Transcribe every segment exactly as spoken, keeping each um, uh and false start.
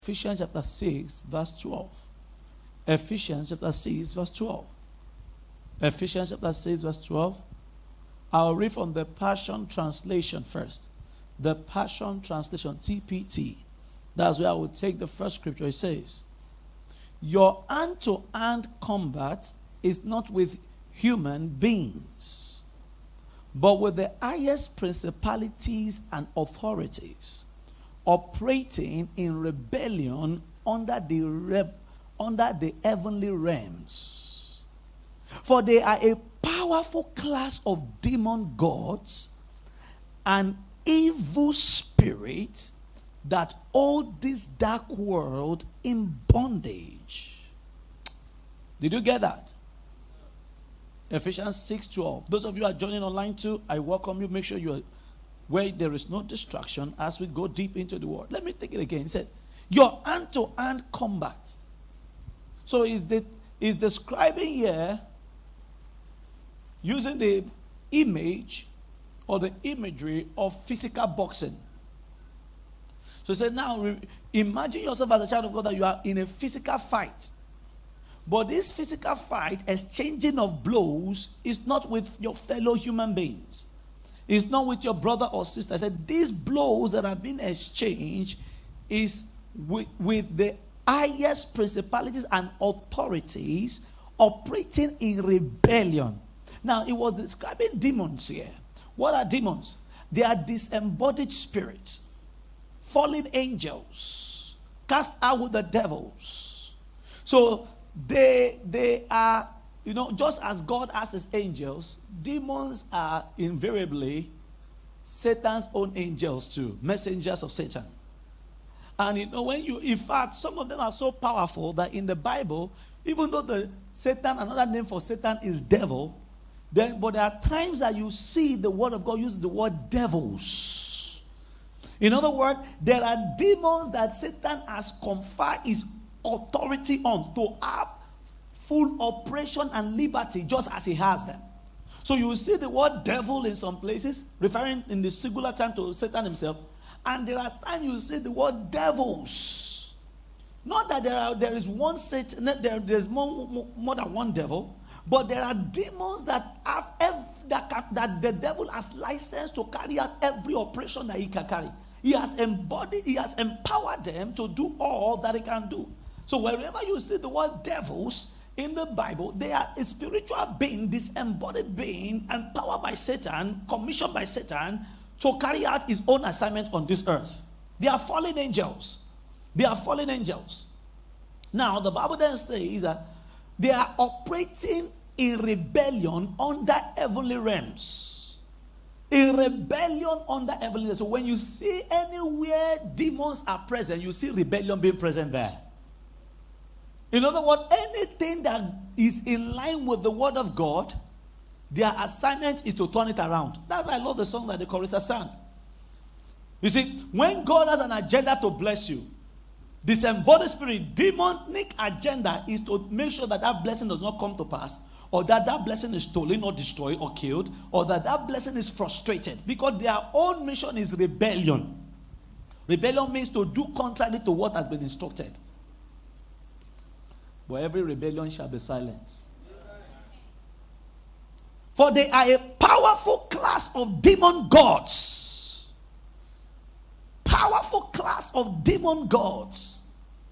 Ephesians chapter six, verse twelve. Ephesians chapter six, verse twelve. Ephesians chapter six, verse twelve. I'll read from the Passion Translation first. The Passion Translation, T P T. That's where I will take the first scripture. It says, your hand-to-hand combat is not with human beings, but with the highest principalities and authorities, operating in rebellion under the reb- under the heavenly realms. For they are a powerful class of demon gods and evil spirits that hold this dark world in bondage. Did you get that? Ephesians six twelve. Those of you who are joining online too, I welcome you. Make sure you are where there is no distraction as we go deep into the word. Let me take it again. It said, your hand-to-hand combat. So is the is describing here using the image or the imagery of physical boxing. So he said, now imagine yourself as a child of God that you are in a physical fight. But this physical fight, exchanging of blows, is not with your fellow human beings. It's not with your brother or sister. I said, these blows that have been exchanged is with, with the highest principalities and authorities operating in rebellion. Now, it was describing demons here. What are demons? They are disembodied spirits, fallen angels, cast out with the devils. So, they, they are, you know, just as God has his angels, demons are invariably Satan's own angels too, messengers of Satan. And you know, when you, in fact, some of them are so powerful that in the Bible, even though the Satan, another name for Satan is devil, then, but there are times that you see the word of God use the word devils. In other words, there are demons that Satan has conferred his authority on to have full operation and liberty just as he has them. So you will see the word devil in some places, referring in the singular term to Satan himself. And there are times you see the word devils. Not that there are there is one Satan, there, there's more, more, more than one devil, but there are demons that have every, that, can, that the devil has license to carry out every operation that he can carry. He has embodied, he has empowered them to do all that he can do. So wherever you see the word devils in the Bible, they are a spiritual being, disembodied being, empowered by Satan, commissioned by Satan to carry out his own assignment on this earth. They are fallen angels. They are fallen angels. Now, the Bible then says that they are operating in rebellion under heavenly realms. In rebellion under heavenly realms. So when you see anywhere demons are present, you see rebellion being present there. In other words, anything that is in line with the word of God, their assignment is to turn it around. That's why I love the song that the chorus sang. You see, when God has an agenda to bless you, disembodied spirit, demonic agenda is to make sure that that blessing does not come to pass, or that that blessing is stolen or destroyed or killed, or that that blessing is frustrated, because their own mission is rebellion. Rebellion means to do contrary to what has been instructed. But every rebellion shall be silenced. For they are a powerful class of demon gods. Powerful class of demon gods.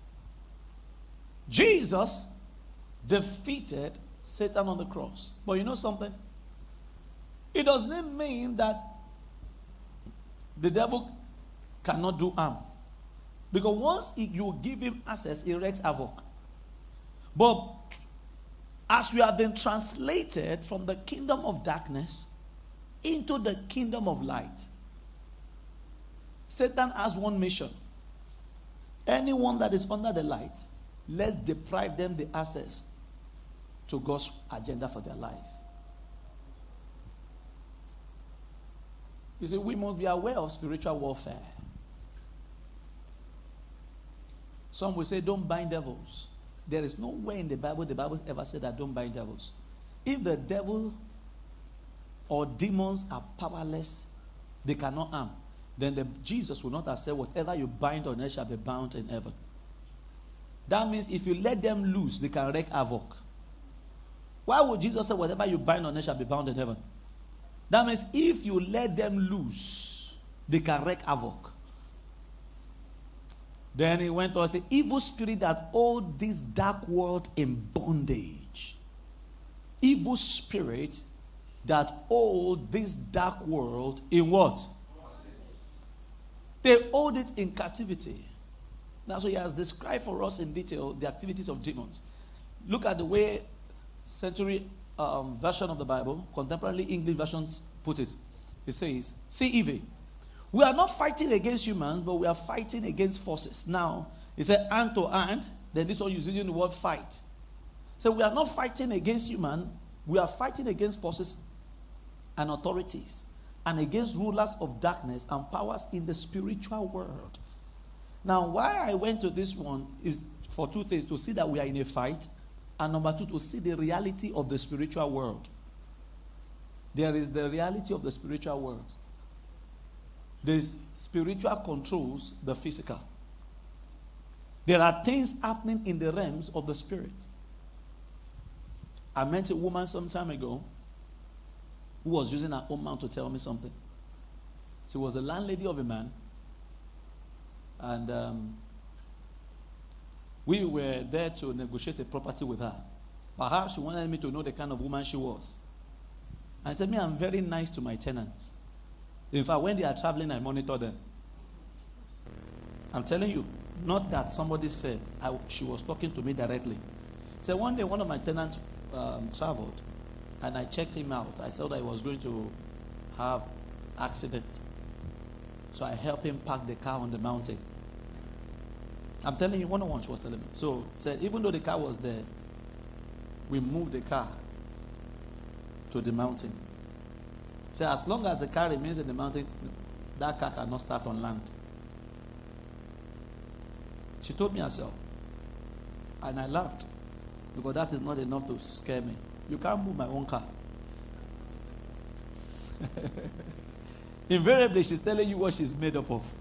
Jesus defeated Satan on the cross. But you know something? It doesn't mean that the devil cannot do harm. Because once you give him access, he wreaks havoc. But as we have been translated from the kingdom of darkness into the kingdom of light, Satan has one mission. Anyone that is under the light, let's deprive them the access to God's agenda for their life. You see, we must be aware of spiritual warfare. Some will say, don't bind devils. There is nowhere in the Bible the Bible ever said that don't bind devils. If the devil or demons are powerless, they cannot harm. then the, Jesus would not have said, whatever you bind on earth shall be bound in heaven. That means if you let them loose, they can wreak havoc. Why would Jesus say, whatever you bind on earth shall be bound in heaven? That means if you let them loose, they can wreak havoc. Then he went on and said, evil spirit that hold this dark world in bondage. Evil spirit that hold this dark world in what? They hold it in captivity. That's why he has described for us in detail the activities of demons. Look at the way century um, version of the Bible, contemporary English versions put it. It says, see evil. We are not fighting against humans, but we are fighting against forces. Now, it said hand to hand. Then this one is using the word fight. So we are not fighting against humans. We are fighting against forces and authorities and against rulers of darkness and powers in the spiritual world. Now, why I went to this one is for two things. To see that we are in a fight. And number two, to see the reality of the spiritual world. There is the reality of the spiritual world. The spiritual controls the physical. There are things happening in the realms of the spirit. I met a woman some time ago who was using her own mouth to tell me something. She was a landlady of a man. And um, we were there to negotiate a property with her. Perhaps she wanted me to know the kind of woman she was. I said, me, I'm very nice to my tenants. In fact, when they are traveling, I monitor them. I'm telling you, not that somebody said, I, she was talking to me directly. So one day, one of my tenants um, traveled, and I checked him out. I saw that he was going to have accident. So I helped him park the car on the mountain. I'm telling you, one on one, she was telling me. So said, even though the car was there, we moved the car to the mountain. So as long as the car remains in the mountain, that car cannot start on land. She told me herself. And I laughed. Because that is not enough to scare me. You can't move my own car. Invariably, she's telling you what she's made up of.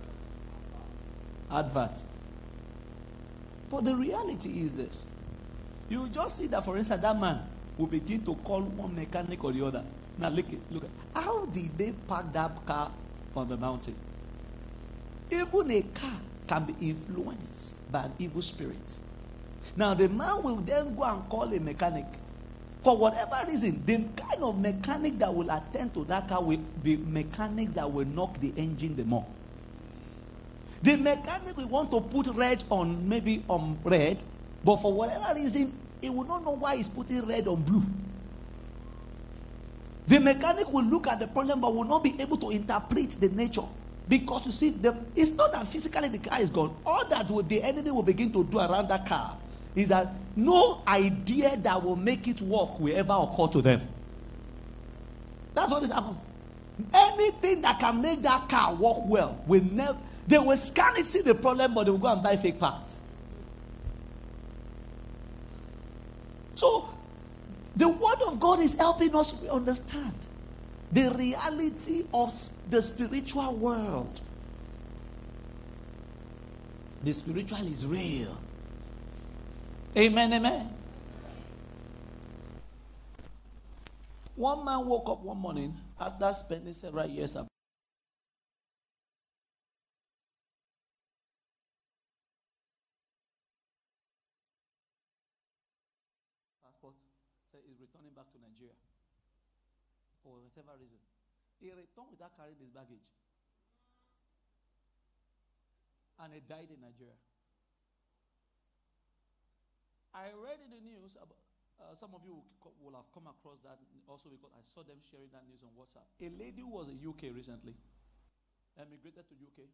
Advert. But the reality is this. You just see that, for instance, that man will begin to call one mechanic or the other. Now look at, look at how did they park that car on the mountain? Even a car can be influenced by an evil spirit. Now the man will then go and call a mechanic. For whatever reason, the kind of mechanic that will attend to that car will be mechanics that will knock the engine the more. The mechanic will want to put red on, maybe on red, but for whatever reason, he will not know why he's putting red on blue. The mechanic will look at the problem but will not be able to interpret the nature. Because you see, the, it's not that physically the car is gone. All that will, the enemy will begin to do around that car is that no idea that will make it work will ever occur to them. That's what it happens. Anything that can make that car work well will never. They will scan it, see the problem, but they will go and buy fake parts. So, the word of God is helping us understand the reality of the spiritual world. The spiritual is real. Amen, amen. One man woke up one morning after spending several years abroad. Passport said he's returning back to Nigeria for whatever reason. He returned without carrying his baggage. And he died in Nigeria. I read in the news about Uh, some of you will have come across that also because I saw them sharing that news on WhatsApp. A lady who was in U K recently emigrated to U K.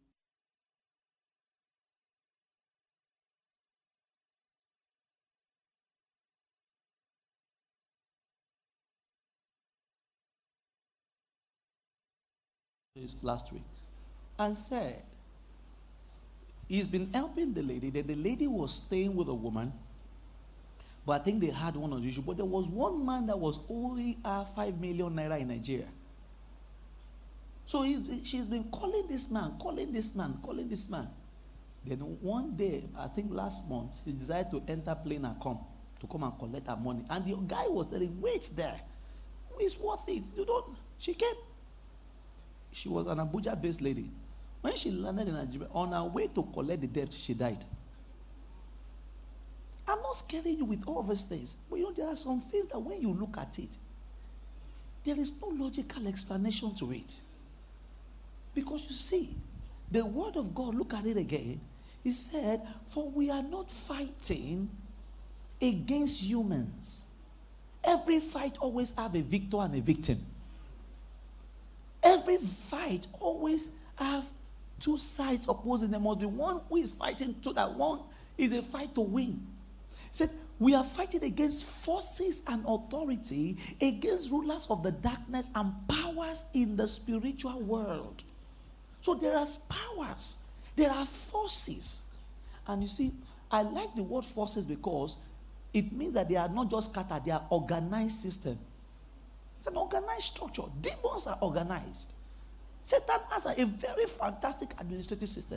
Last week and said he's been helping the lady. That the lady was staying with a woman. But I think they had one of the issue. But there was one man that was owing her five million naira in Nigeria. So he's, she's been calling this man, calling this man, calling this man. Then one day, I think last month, she decided to enter plane and come to come and collect her money. And the guy was telling, wait there. It's worth it. You don't. She came. She was an Abuja-based lady. When she landed in Nigeria, on her way to collect the debt, she died. I'm not scaring you with all these things. But you know, there are some things that when you look at it, there is no logical explanation to it. Because you see, the word of God, look at it again. He said, for we are not fighting against humans. Every fight always have a victor and a victim. Every fight always have two sides opposing them. The one who is fighting to that one is a fight to win. He said, we are fighting against forces and authority, against rulers of the darkness and powers in the spiritual world. So there are powers, there are forces. And you see, I like the word forces because it means that they are not just scattered, they are organized system. It's an organized structure. Demons are organized. Satan has a, a very fantastic administrative system.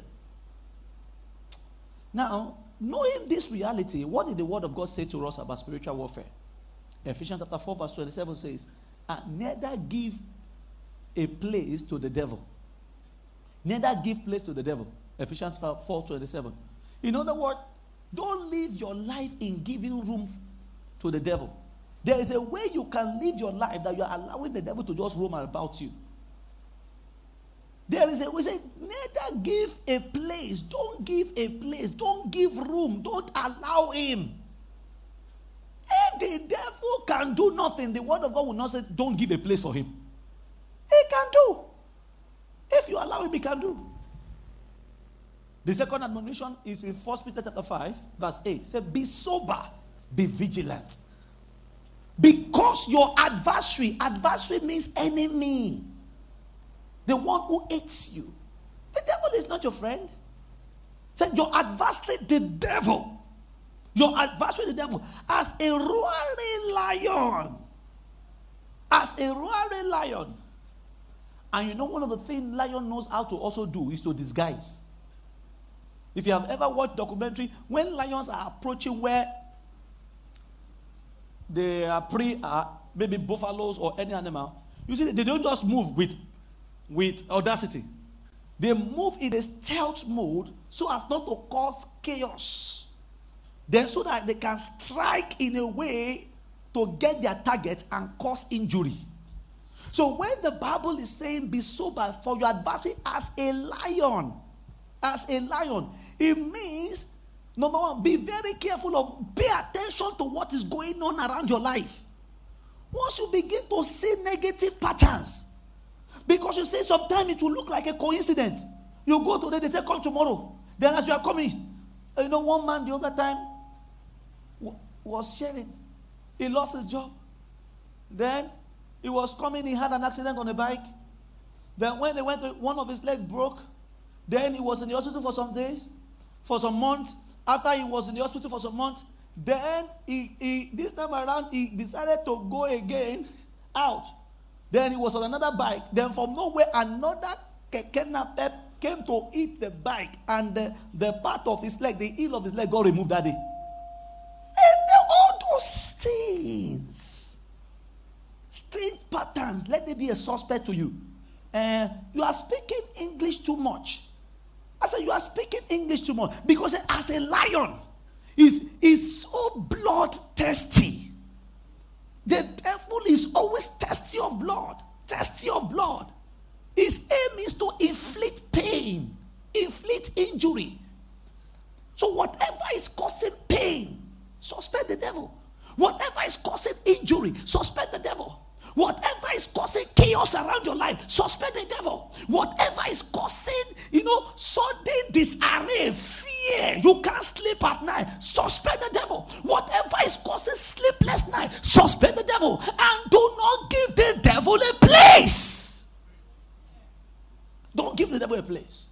Now, knowing this reality, what did the word of God say to us about spiritual warfare? Ephesians chapter four verse twenty-seven says, and neither give a place to the devil. Neither give place to the devil. Ephesians four twenty-seven. In other words, don't live your life in giving room to the devil. There is a way you can live your life that you are allowing the devil to just roam about you. There is a way, say, neither give a place. Don't give a place. Don't give room. Don't allow him. If the devil can do nothing, the word of God will not say, don't give a place for him. He can do. If you allow him, he can do. The second admonition is in First Peter chapter five, verse eight. It says, be sober, be vigilant. Because your adversary, adversary means enemy. The one who hates you. The devil is not your friend. Say, your adversary, the devil. Your adversary, the devil, as a roaring lion. As a roaring lion. And you know one of the things lion knows how to also do is to disguise. If you have ever watched documentary, when lions are approaching where their prey are, maybe buffaloes or any animal, you see they don't just move with, with audacity. They move in a stealth mode so as not to cause chaos. Then so that they can strike in a way to get their target and cause injury. So when the Bible is saying be sober for your adversary as a lion, as a lion, it means, number one, be very careful of, pay attention to what is going on around your life. Once you begin to see negative patterns, because you see sometimes it will look like a coincidence. You go today, they say come tomorrow. Then as you are coming, you know one man the other time was sharing. He lost his job. Then he was coming, he had an accident on a bike. Then when they went to, one of his legs broke. Then he was in the hospital for some days, for some months. After he was in the hospital for some months, then he, he this time around he decided to go again out. Then he was on another bike. Then from nowhere another keke napep came to eat the bike, and the, the part of his leg, the heel of his leg, got removed that day. And all those things, strange patterns, let there be a suspect to you. Uh, you are speaking English too much. I said, you are speaking English too much. Because as a lion, is is so blood-thirsty. The devil is always thirsty of blood. Thirsty of blood. His aim is to inflict pain, inflict injury. So whatever is causing pain, suspect the devil. Whatever is causing injury, suspect the devil. Whatever is causing chaos around your life, suspect the devil. Whatever is causing, you know, sudden disarray, fear, you can't sleep at night, suspect the devil. Whatever is causing sleepless night, suspect the devil. And do not give the devil a place. Don't give the devil a place.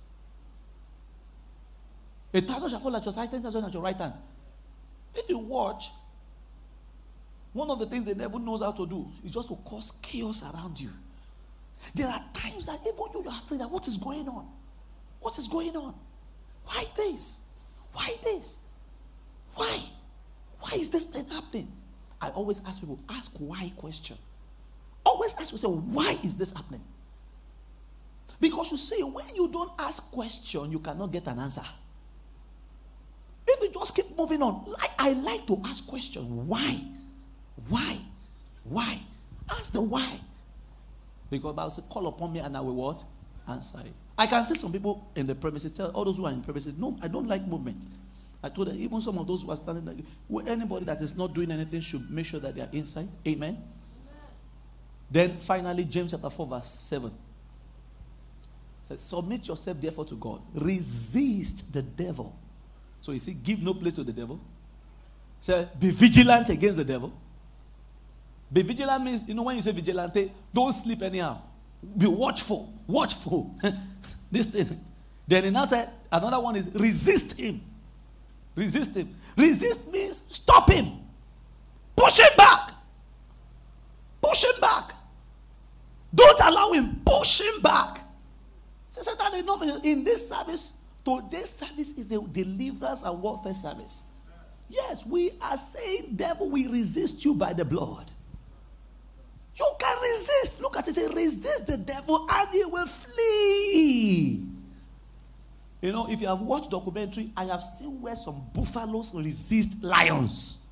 A thousand shall fall at your side, ten thousand at your right hand. If you watch, one of the things the devil knows how to do is just to cause chaos around you. There are times that even you are afraid that what is going on? What is going on? Why this? Why this? Why? Why is this thing happening? I always ask people, ask why question. Always ask yourself, why is this happening? Because you see, when you don't ask question, you cannot get an answer. If you just keep moving on, like I like to ask questions. Why? Why? Why? Ask the why. Because the Bible says, call upon me and I will what? Answer it. I can see some people in the premises, tell all those who are in the premises, no, I don't like movement. I told them, even some of those who are standing there, well, anybody that is not doing anything should make sure that they are inside. Amen. Amen. Then finally, James chapter four, verse seven. Says, submit yourself therefore to God. Resist the devil. So you see, give no place to the devil. Say, be vigilant against the devil. Be vigilant means, you know, when you say vigilante, don't sleep anyhow. Be watchful. Watchful. This thing. Then another said, another one is resist him. Resist him. Resist means stop him. Push him back. Push him back. Don't allow him. Push him back. So Satan, enough in this service. Today's service is a deliverance and warfare service. Yes, we are saying, devil, we resist you by the blood. You can resist. Look at it. Say, resist the devil and he will flee. You know, if you have watched documentary, I have seen where some buffaloes resist lions.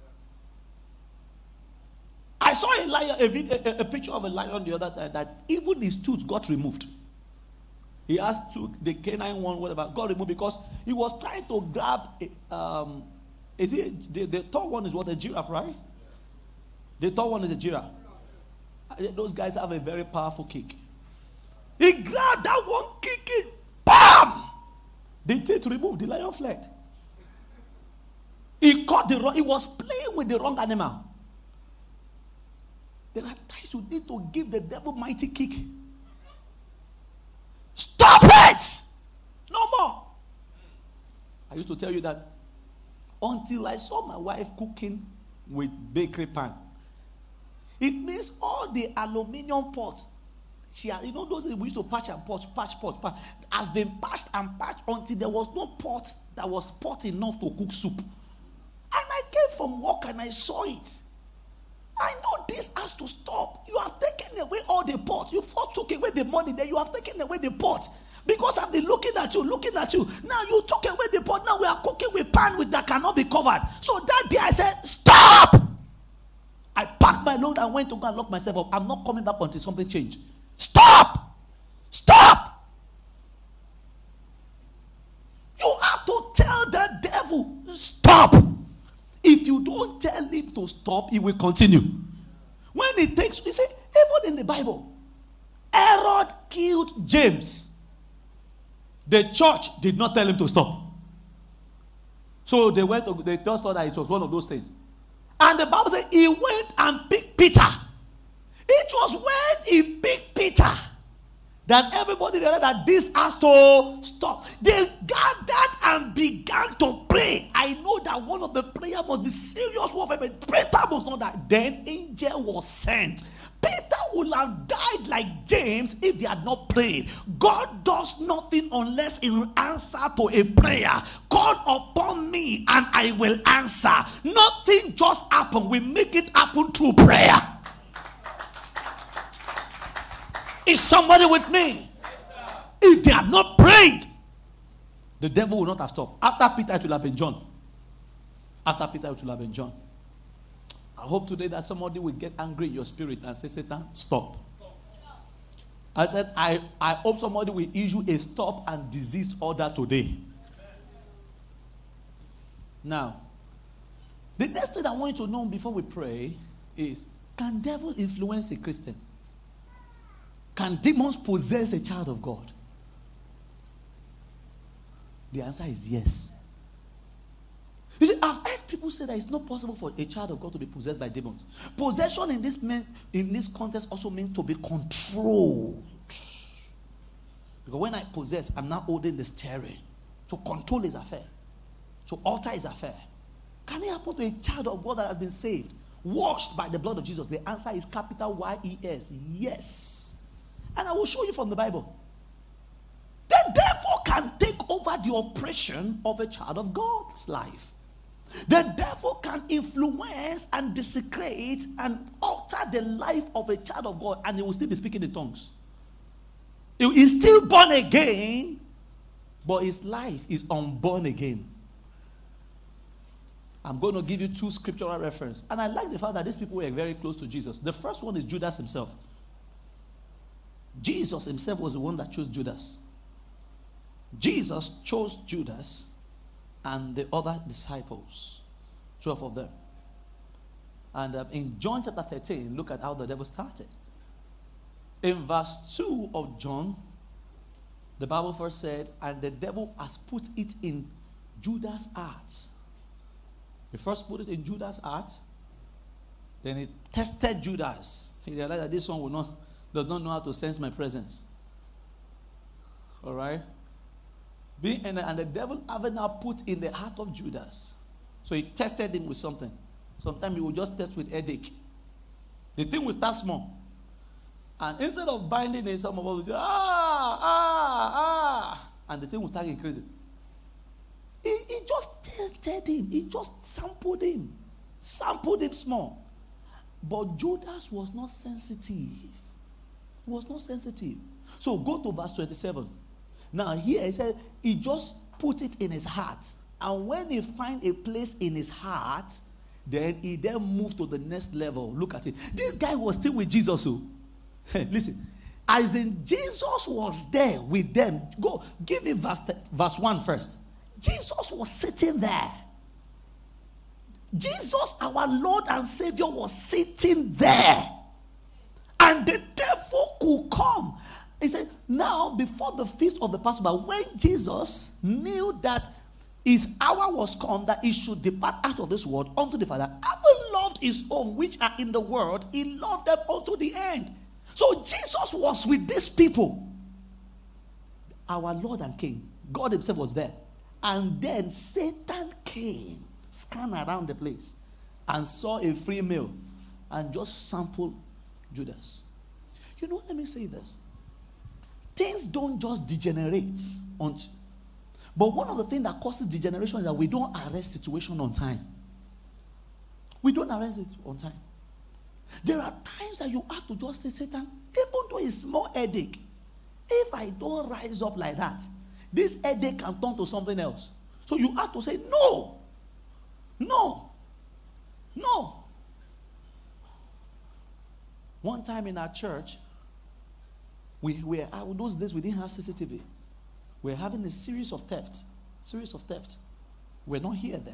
I saw a lion, a, video, a, a picture of a lion the other time that even his tooth got removed. He asked to the canine one, whatever, got removed because he was trying to grab. A, um, is it the, the tall one is what, a giraffe, right? The tall one is a giraffe. Those guys have a very powerful kick. He grabbed that one, kick it, bam! The teeth removed, the lion fled. He caught the wrong, he was playing with the wrong animal. There are times you need to give the devil mighty kick. Stop it! No more. I used to tell you that until I saw my wife cooking with bakery pan. It means all the aluminium pots, she has, you know those we used to patch and patch, patch, patch, patch, has been patched and patched until there was no pot that was pot enough to cook soup. And I came from work and I saw it. I know this has to stop. You have taken away all the pots. You first took away the money, then you have taken away the pot. Because I've been looking at you, looking at you. Now you took away the pot. Now we are cooking with pan with that cannot be covered. So that day I said, stop! I packed my load and went to go and lock myself up. I'm not coming back until something changed. Stop! Stop! You have to tell the devil, stop! If you don't tell him to stop, he will continue. When it takes, you see, even in the Bible, Herod killed James. The church did not tell him to stop. So they went to, they just thought that it was one of those things. And the Bible said he went and picked Peter. It was when he picked Peter that everybody realized that this has to stop. They gathered and began to pray. I know that one of the prayer must be serious warfare, but prayer was not that. Then angel was sent. Peter would have died like James if they had not prayed. God does nothing unless in answer to a prayer. Call upon me and I will answer. Nothing just happened. We make it happen through prayer. Is somebody with me? Yes, if they had not prayed, the devil would not have stopped. After Peter, it would have been John. After Peter, it would have been John. I hope today that somebody will get angry in your spirit and say, Satan, stop. I said, I, I hope somebody will issue a stop and disease order today. Now, the next thing I want you to know before we pray is, can devil influence a Christian? Can demons possess a child of God? The answer is yes. You see, I've heard people say that it's not possible for a child of God to be possessed by demons. Possession in this mean, in this context also means to be controlled. Because when I possess, I'm now holding the steering. To control his affair. To alter his affair. Can it happen to a child of God that has been saved? Washed by the blood of Jesus? The answer is capital Y E S. Yes. And I will show you from the Bible. The devil can take over the oppression of a child of God's life. The devil can influence and desecrate and alter the life of a child of God, and he will still be speaking in tongues. He is still born again, but his life is unborn again. I'm going to give you two scriptural references. And I like the fact that these people were very close to Jesus. The first one is Judas himself. Jesus himself was the one that chose Judas. Jesus chose Judas and the other disciples, twelve of them. And um, in John chapter thirteen, look at how the devil started. In verse two of John, the Bible first said, and the devil has put it in Judas' heart. He first put it in Judas' heart. Then he tested Judas. He realized that this one will not, does not know how to sense my presence. All right? Being, and, and the devil having now put in the heart of Judas. So he tested him with something. Sometimes he will just test with headache. The thing will start small. And instead of binding it, some of us will say, ah, ah, ah. And the thing will start increasing. He, he just tested him. He just sampled him. Sampled him small. But Judas was not sensitive. He was not sensitive. So go to verse twenty-seven. Now here he said, he just put it in his heart. And when he find a place in his heart, then he then moved to the next level. Look at it. This guy was still with Jesus. So, hey, listen. As in Jesus was there with them. Go, give me verse, verse one first. Jesus was sitting there. Jesus, our Lord and Savior, was sitting there. And the devil could come. He said, now, before the feast of the Passover, when Jesus knew that his hour was come, that he should depart out of this world unto the Father, having loved his own which are in the world, he loved them unto the end. So Jesus was with these people. Our Lord and King, God himself was there. And then Satan came, scanned around the place, and saw a free meal, and just sampled Judas. You know, let me say this. Things don't just degenerate. On t- but one of the things that causes degeneration is that we don't arrest situation on time. We don't arrest it on time. There are times that you have to just say, Satan, even though it's small headache, if I don't rise up like that, this headache can turn to something else. So you have to say, no, no, no. One time in our church, we were, those days we didn't have C C T V. We were having a series of thefts. Series of thefts. We're not here then.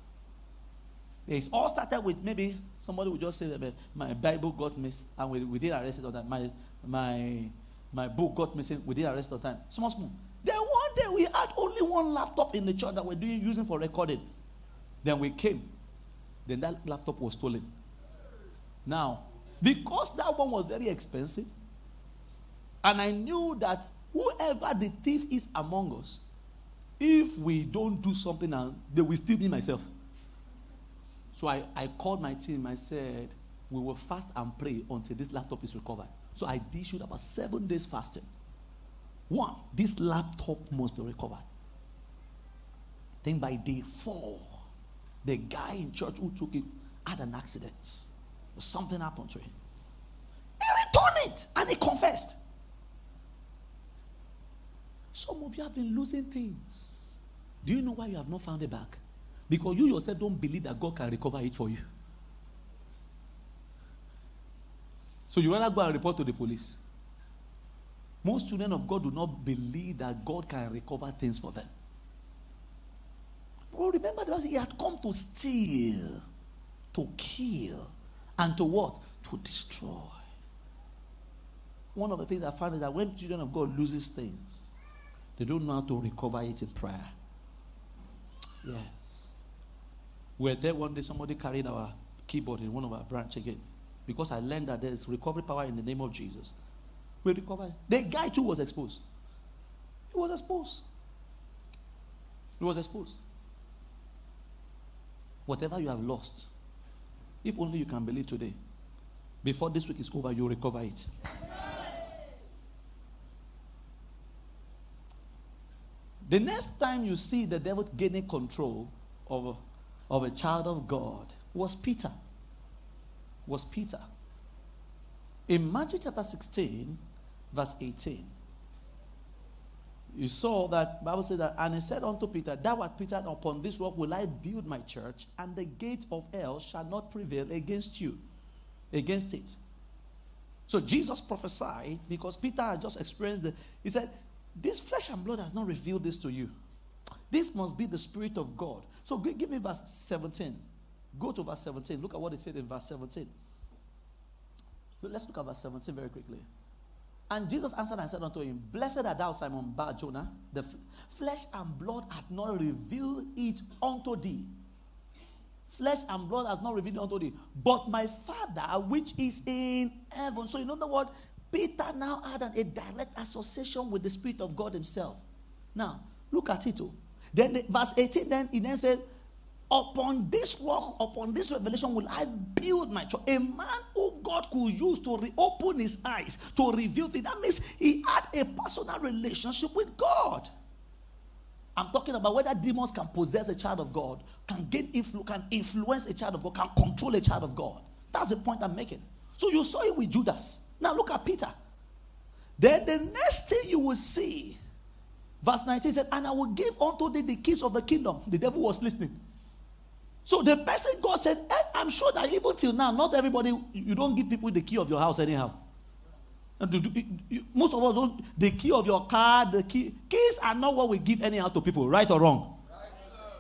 It all started with maybe somebody would just say that my Bible got missed and we, we did arrest it all the time. My, my, my book got missing, we did arrest it all the time. Small, small. Then one day we had only one laptop in the church that we're doing, using for recording. Then we came. Then that laptop was stolen. Now, because that one was very expensive, and I knew that whoever the thief is among us, if we don't do something now, they will steal me myself. So I, I called my team. I said, we will fast and pray until this laptop is recovered. So I issued about seven days fasting. One, this laptop must be recovered. Then by day four, the guy in church who took it had an accident. Something happened to him. He returned it and he confessed. Some of you have been losing things. Do you know why you have not found it back? Because you yourself don't believe that God can recover it for you. So you rather go and report to the police. Most children of God do not believe that God can recover things for them. Well, remember that he had come to steal, to kill, and to what? To destroy. One of the things I found is that when children of God loses things, they don't know how to recover it in prayer. Yes. We were there one day, somebody carried our keyboard in one of our branch again. Because I learned that there's recovery power in the name of Jesus. We recovered. The guy too was exposed. He was exposed. He was exposed. Whatever you have lost, if only you can believe today, before this week is over, you'll recover it. The next time you see the devil gaining control of, of a child of God was Peter. Was Peter. In Matthew chapter sixteen, verse eighteen, you saw that Bible said that, and he said unto Peter, thou art Peter, and upon this rock will I build my church, and the gate of hell shall not prevail against you, against it. So Jesus prophesied because Peter had just experienced the, he said, this flesh and blood has not revealed this to you. This must be the Spirit of God. So give me verse seventeen. Go to verse seventeen. Look at what he said in verse seventeen. Let's look at verse seventeen very quickly. And Jesus answered and said unto him, blessed art thou, Simon Bar-Jonah, the f- flesh and blood hath not revealed it unto thee. Flesh and blood has not revealed it unto thee, but my Father which is in heaven. So in other words, Peter now had an, a direct association with the Spirit of God himself. Now, look at it. Oh. Then the, verse eighteen, then he then said, upon this rock, upon this revelation will I build my church. A man who God could use to reopen his eyes, to reveal things. That means he had a personal relationship with God. I'm talking about whether demons can possess a child of God, can gain influ- can influence a child of God, can control a child of God. That's the point I'm making. So you saw it with Judas. Now look at Peter. Then the next thing you will see, verse nineteen said, and I will give unto thee the keys of the kingdom. The devil was listening. So the person God said, eh, I'm sure that even till now, not everybody, you don't give people the key of your house anyhow. And do, do, you, most of us don't, the key of your car, the key, keys are not what we give anyhow to people, right or wrong? Right,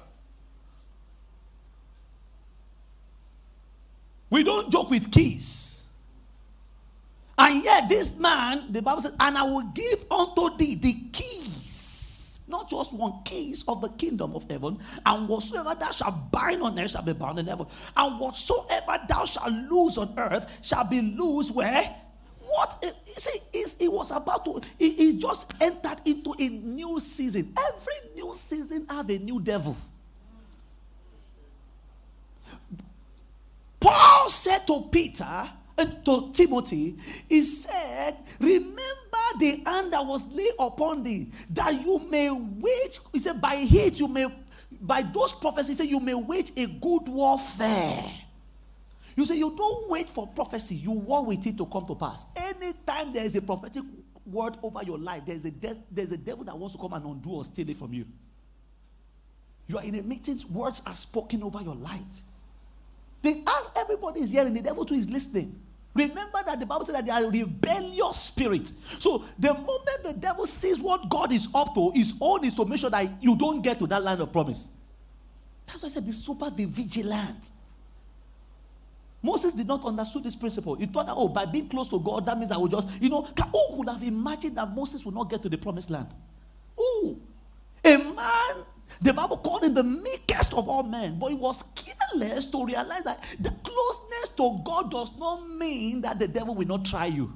we don't joke with keys. And yet this man, the Bible says, and I will give unto thee the keys, not just one, keys of the kingdom of heaven, and whatsoever thou shalt bind on earth shall be bound in heaven, and whatsoever thou shalt loose on earth shall be loose where? What? You see, it was about to, he just entered into a new season. Every new season have a new devil. Paul said to Peter, and to Timothy, he said, remember the hand that was laid upon thee, that you may wage, he said, by it you may, by those prophecies, he said, you may wage a good warfare. You say you don't wait for prophecy, you war with it to come to pass. Anytime there is a prophetic word over your life, there's a, de- there's a devil that wants to come and undo or steal it from you. You are in a meeting, words are spoken over your life. They ask, everybody is hearing, the devil too is listening. Remember that the Bible said that they are rebellious spirits. So the moment the devil sees what God is up to, his own is to make sure that you don't get to that land of promise. That's why I said be super, be vigilant. Moses did not understand this principle. He thought that, oh, by being close to God, that means I will just, you know, who would have imagined that Moses would not get to the promised land? Who? A man, the Bible called him the meekest of all men, but he was careless to realize that the closeness to God does not mean that the devil will not try you.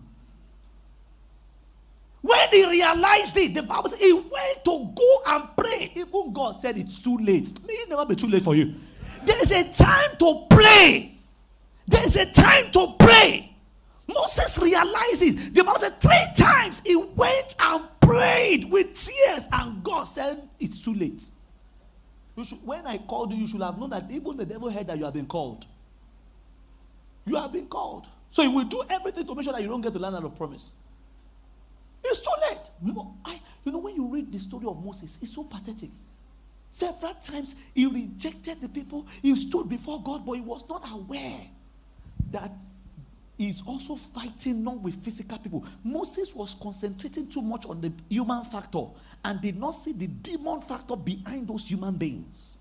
When he realized it, the Bible said he went to go and pray. Even God said it's too late. May it never be too late for you. There's a time to pray. There's a time to pray. Moses realized it. The Bible said three times he went and prayed with tears, and God said it's too late. You should, when I called you, you should have known that even the devil heard that you have been called. You have been called. So he will do everything to make sure that you don't get to the land of promise. It's too late. I, you know, when you read the story of Moses, it's so pathetic. Several times he rejected the people. He stood before God, but he was not aware that he's also fighting not with physical people. Moses was concentrating too much on the human factor and did not see the demon factor behind those human beings.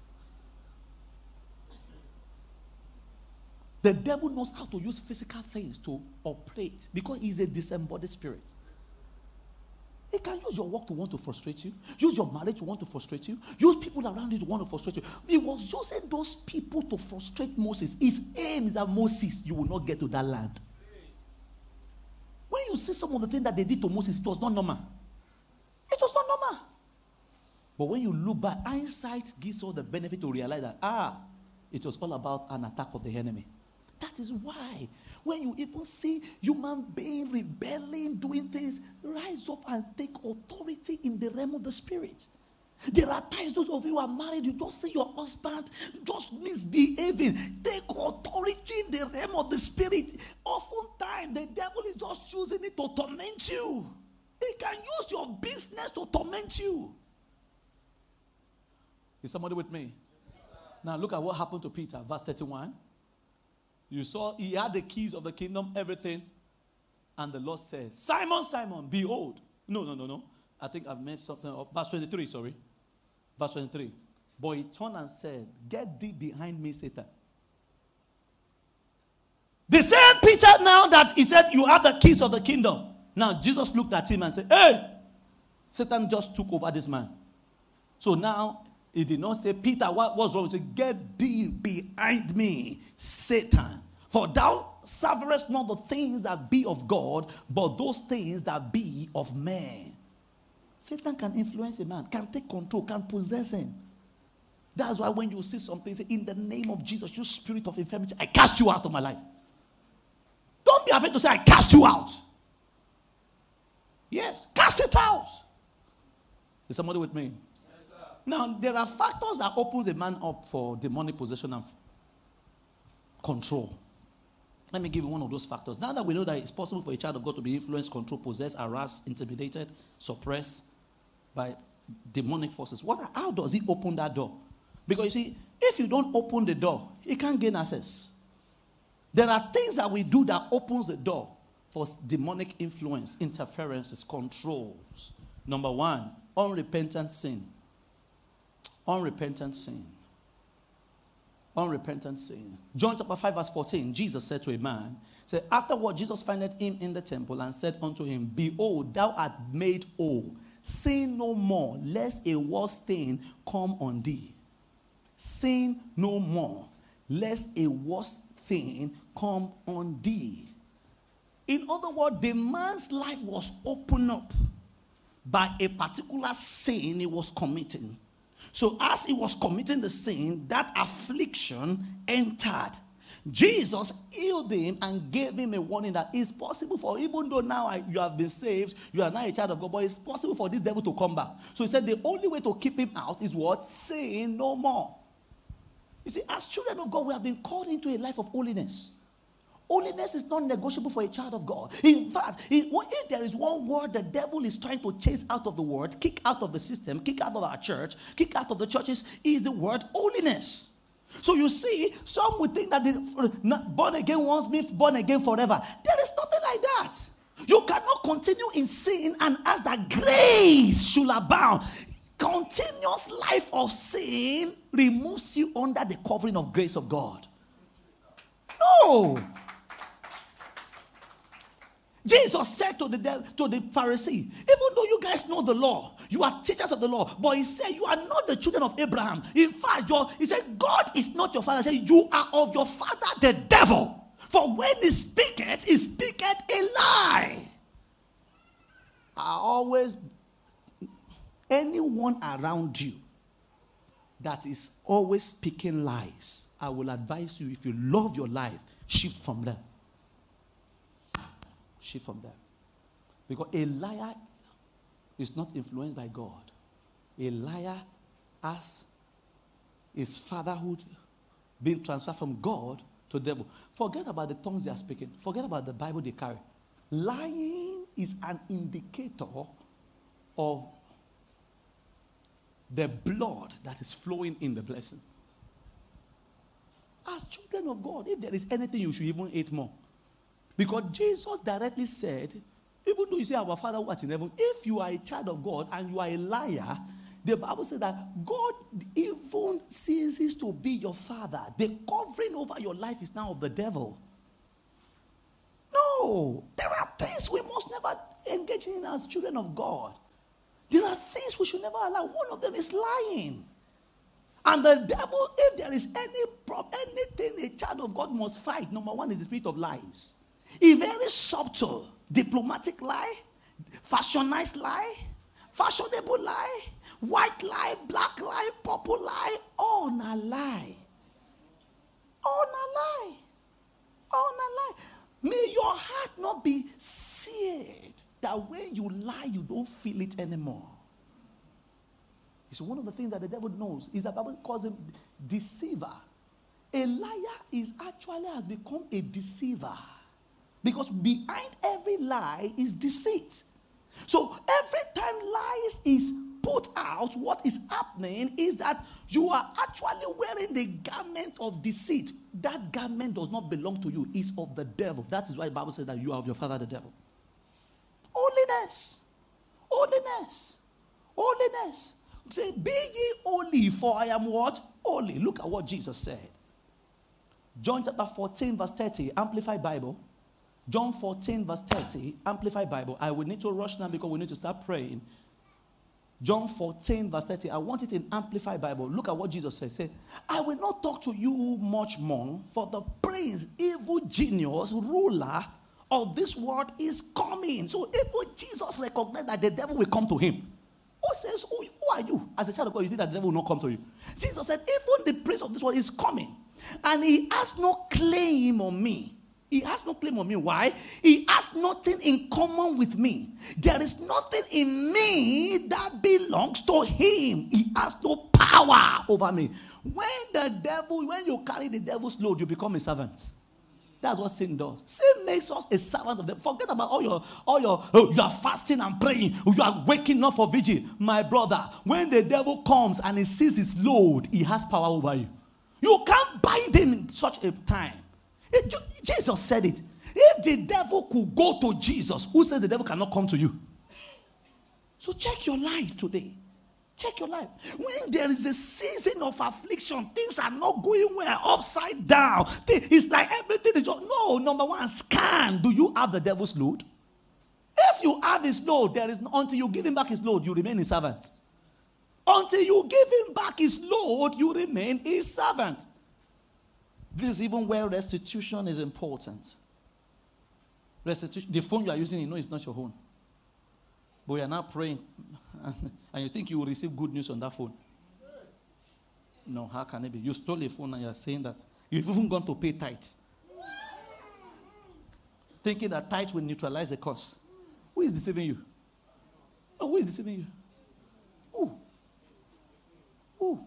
The devil knows how to use physical things to operate because he's a disembodied spirit. He can use your work to want to frustrate you. Use your marriage to want to frustrate you. Use people around you to want to frustrate you. He was using those people to frustrate Moses. His aim is that Moses, you will not get to that land. When you see some of the things that they did to Moses, it was not normal. It was not normal. But when you look back, hindsight gives all the benefit to realize that, ah, it was all about an attack of the enemy. That is why when you even see human being rebelling, doing things, rise up and take authority in the realm of the spirit. There are times those of you who are married, you just see your husband just misbehaving. Take authority in the realm of the spirit. Oftentimes, the devil is just using it to torment you. He can use your business to torment you. Is somebody with me? Now look at what happened to Peter, verse thirty-one. You saw he had the keys of the kingdom, everything. And the Lord said, Simon, Simon, behold. No, no, no, no. I think I've made something up. Verse twenty-three, sorry. Verse twenty-three. But he turned and said, get thee behind me, Satan. The same Peter now that he said, you have the keys of the kingdom. Now Jesus looked at him and said, hey, Satan just took over this man. So now he did not say, Peter, what was wrong? He said, get thee behind me, Satan. For thou savourest not the things that be of God, but those things that be of men. Satan can influence a man, can take control, can possess him. That's why when you see something, say, in the name of Jesus, you spirit of infirmity, I cast you out of my life. Don't be afraid to say, I cast you out. Yes, cast it out. Is somebody with me? Yes, sir. Now, there are factors that opens a man up for demonic possession and control. Let me give you one of those factors. Now that we know that it's possible for a child of God to be influenced, controlled, possessed, harassed, intimidated, suppressed by demonic forces, what, how does he open that door? Because you see, if you don't open the door, he can't gain access. There are things that we do that opens the door for demonic influence, interferences, controls. Number one, unrepentant sin. Unrepentant sin. Unrepentant sin. John chapter five verse fourteen, Jesus said to a man, said, afterward Jesus findeth him in the temple and said unto him, behold, thou art made whole. Sin no more, lest a worse thing come on thee. Sin no more, lest a worse thing come on thee. In other words, the man's life was opened up by a particular sin he was committing. So as he was committing the sin, that affliction entered. Jesus healed him and gave him a warning that it's possible for, even though now you have been saved, you are now a child of God, but it's possible for this devil to come back. So he said the only way to keep him out is what? Sin no more. You see, as children of God, we have been called into a life of holiness. Holiness is not negotiable for a child of God. In fact, if there is one word the devil is trying to chase out of the word, kick out of the system, kick out of our church, kick out of the churches, is the word holiness. So you see, some would think that the born again once means born again forever. There is nothing like that. You cannot continue in sin and ask that grace should abound. Continuous life of sin removes you under the covering of grace of God. No. Jesus said to the to the Pharisee, even though you guys know the law, you are teachers of the law, but he said you are not the children of Abraham. In fact, he said God is not your father. He said you are of your father the devil. For when he speaketh, he speaketh a lie. I always, anyone around you that is always speaking lies, I will advise you, if you love your life, shift from them. Shift from them. Because a liar is not influenced by God. A liar has his fatherhood being transferred from God to the devil. Forget about the tongues they are speaking. Forget about the Bible they carry. Lying is an indicator of the blood that is flowing in the blessing. As children of God, if there is anything you should even hate more. Because Jesus directly said, even though you say our Father who art in heaven, if you are a child of God and you are a liar, the Bible says that God even ceases to be your father. The covering over your life is now of the devil. No, there are things we must never engage in as children of God. There are things we should never allow. One of them is lying. And the devil, if there is any problem, anything a child of God must fight, number one is the spirit of lies. A very subtle, diplomatic lie, fashionized lie, fashionable lie, white lie, black lie, purple lie, all na lie. All na lie. All na lie. May your heart not be seared that when you lie, you don't feel it anymore. It's one of the things that the devil knows is that the Bible calls him deceiver. A liar is actually has become a deceiver. Because behind every lie is deceit. So every time lies is put out, what is happening is that you are actually wearing the garment of deceit. That garment does not belong to you. It's of the devil. That is why the Bible says that you are of your father the devil. Holiness. Holiness. Holiness. Say, be ye holy, for I am what? Holy. Look at what Jesus said. John chapter fourteen, verse thirty, Amplified Bible. John fourteen, verse thirty, Amplified Bible. I will need to rush now because we need to start praying. John fourteen, verse thirty. I want it in Amplified Bible. Look at what Jesus says. Say, I will not talk to you much more, for the prince, evil genius, ruler of this world is coming. So even Jesus recognized that the devil will come to him. Who says, who, who are you? As a child of God, you think that the devil will not come to you. Jesus said, even the prince of this world is coming. And he has no claim on me. He has no claim on me. Why? He has nothing in common with me. There is nothing in me that belongs to him. He has no power over me. When the devil, when you carry the devil's load, you become a servant. That's what sin does. Sin makes us a servant of them. Forget about all your, all your, oh, you are fasting and praying. You are waking up for vigil. My brother, when the devil comes and he sees his load, he has power over you. You can't bind him in such a time. It, Jesus said it. If the devil could go to Jesus, who says the devil cannot come to you? So check your life today. Check your life. When there is a season of affliction, things are not going well, upside down. It's like everything is just, no, number one, scan. Do you have the devil's load? If you have his load, there is until you give him back his load, you remain his servant. Until you give him back his load, you remain his servant. This is even where restitution is important. Restitution, the phone you are using, you know it's not your own. But you are now praying, and you think you will receive good news on that phone. No, how can it be? You stole a phone and you are saying that. You've even gone to pay tithes. Thinking that tithes will neutralize the cost. Who is deceiving you? No, who is deceiving you? Who? Who?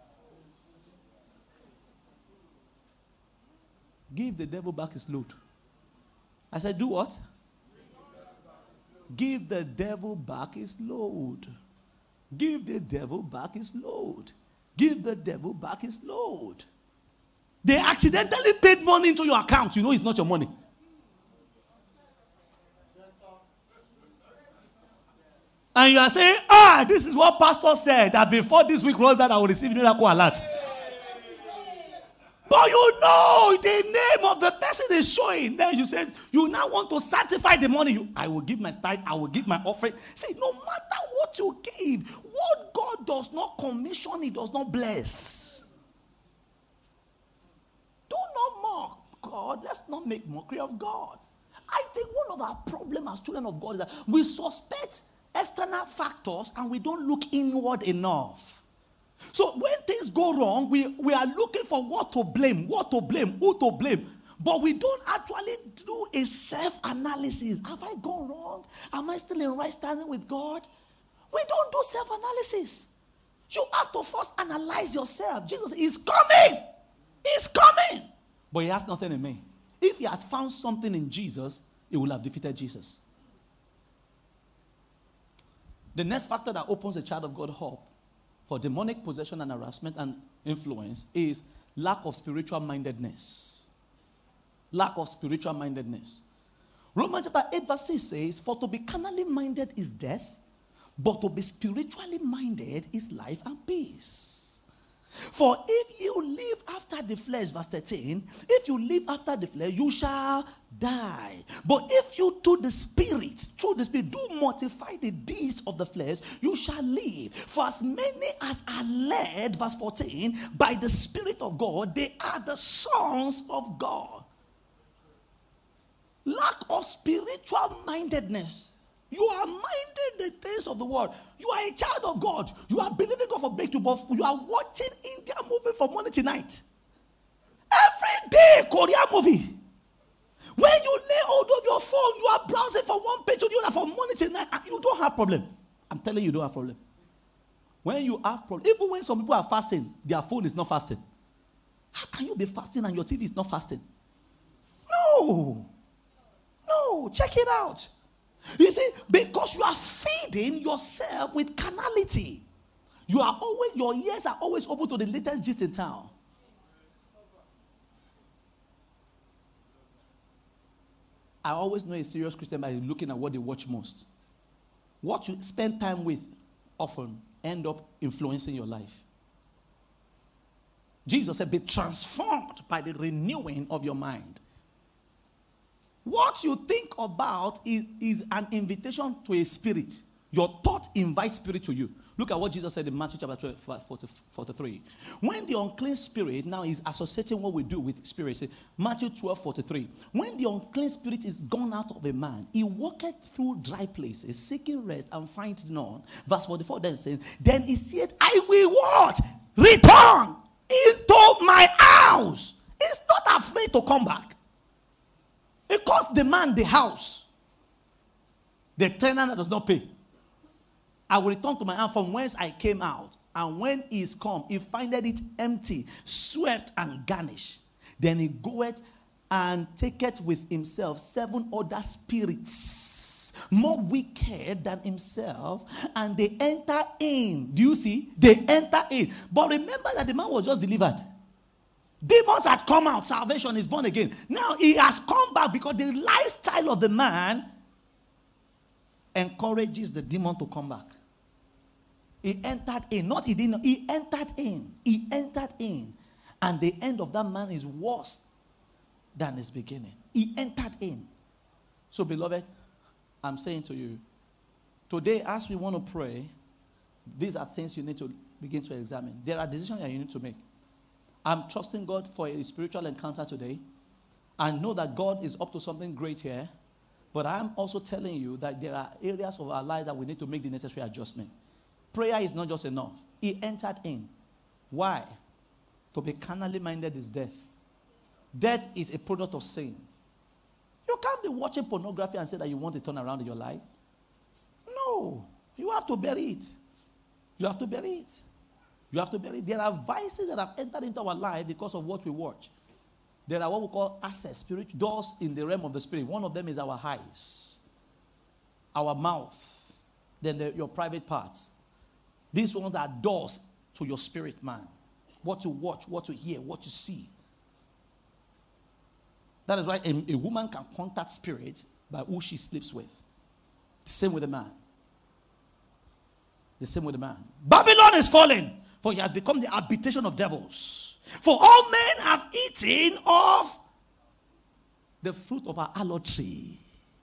Give the devil back his load. I said, do what? Give the devil back his load. Give the devil back his load. Give the devil back his load. They accidentally paid money into your account. You know it's not your money. And you are saying, ah, this is what pastor said, that before this week runs out, I will receive miracle alert. But you know the name of the person is showing. Then you said, you now want to sanctify the money. You, I will give my tithe, I will give my offering. See, no matter what you give, what God does not commission, he does not bless. Do not mock God. Let's not make mockery of God. I think one of our problems as children of God is that we suspect external factors and we don't look inward enough. So when things go wrong, we, we are looking for what to blame, what to blame, who to blame. But we don't actually do a self-analysis. Have I gone wrong? Am I still in right standing with God? We don't do self-analysis. You have to first analyze yourself. Jesus is coming. He's coming. But he has nothing in me. If he had found something in Jesus, he would have defeated Jesus. The next factor that opens a child of God up for demonic possession and harassment and influence is lack of spiritual mindedness. Lack of spiritual mindedness. Romans chapter eight verse six says, for to be carnally minded is death, but to be spiritually minded is life and peace. For if you live after the flesh, verse thirteen, if you live after the flesh, you shall die. But if you to the spirit, through the spirit, do mortify the deeds of the flesh, you shall live. For as many as are led, verse fourteen, by the Spirit of God, they are the sons of God. Lack of spiritual mindedness. You are minding the things of the world. You are a child of God. You are believing God for breakthrough, but you are watching India movie from morning to night. Every day, Korean movie. When you lay hold of your phone, you are browsing from one page to the other from morning to night, and you don't have problem. I'm telling you, you don't have problem. When you have problems, even when some people are fasting, their phone is not fasting. How can you be fasting and your T V is not fasting? No. No. Check it out. You see, because you are feeding yourself with carnality. You are always, your ears are always open to the latest gist in town. I always know a serious Christian by looking at what they watch most. What you spend time with often end up influencing your life. Jesus said, be transformed by the renewing of your mind. What you think about is, is an invitation to a spirit. Your thought invites spirit to you. Look at what Jesus said in Matthew chapter twelve, forty-three. When the unclean spirit now is associating what we do with spirits, Matthew twelve, forty-three. When the unclean spirit is gone out of a man, he walketh through dry places, seeking rest and findeth none. Verse forty-four then says, then he said, I will what? Return into my house. He's not afraid to come back. It costs the man the house. The tenant does not pay. I will return to my house from whence I came out. And when he is come, he findeth it empty, swept and garnished. Then he goeth and taketh with himself seven other spirits, more wicked than himself, and they enter in. Do you see? They enter in. But remember that the man was just delivered. Demons had come out. Salvation is born again. Now he has come back because the lifestyle of the man encourages the demon to come back. He entered in. Not he didn't. He entered in. He entered in. And the end of that man is worse than his beginning. He entered in. So, beloved, I'm saying to you, today as we want to pray, these are things you need to begin to examine. There are decisions that you need to make. I'm trusting God for a spiritual encounter today. I know that God is up to something great here. But I'm also telling you that there are areas of our life that we need to make the necessary adjustment. Prayer is not just enough. He entered in. Why? To be carnally minded is death. Death is a product of sin. You can't be watching pornography and say that you want to turn around in your life. No. You have to bury it. You have to bury it. You have to bury it. There are vices that have entered into our life because of what we watch. There are what we call access, spiritual doors in the realm of the spirit. One of them is our eyes, our mouth, then the, your private parts. These ones are doors to your spirit man. What to watch, what to hear, what to see. That is why a, a woman can contact spirits by who she sleeps with. The same with a man. The same with a man. Babylon is falling, for he has become the habitation of devils. For all men have eaten of the fruit of our idolatry.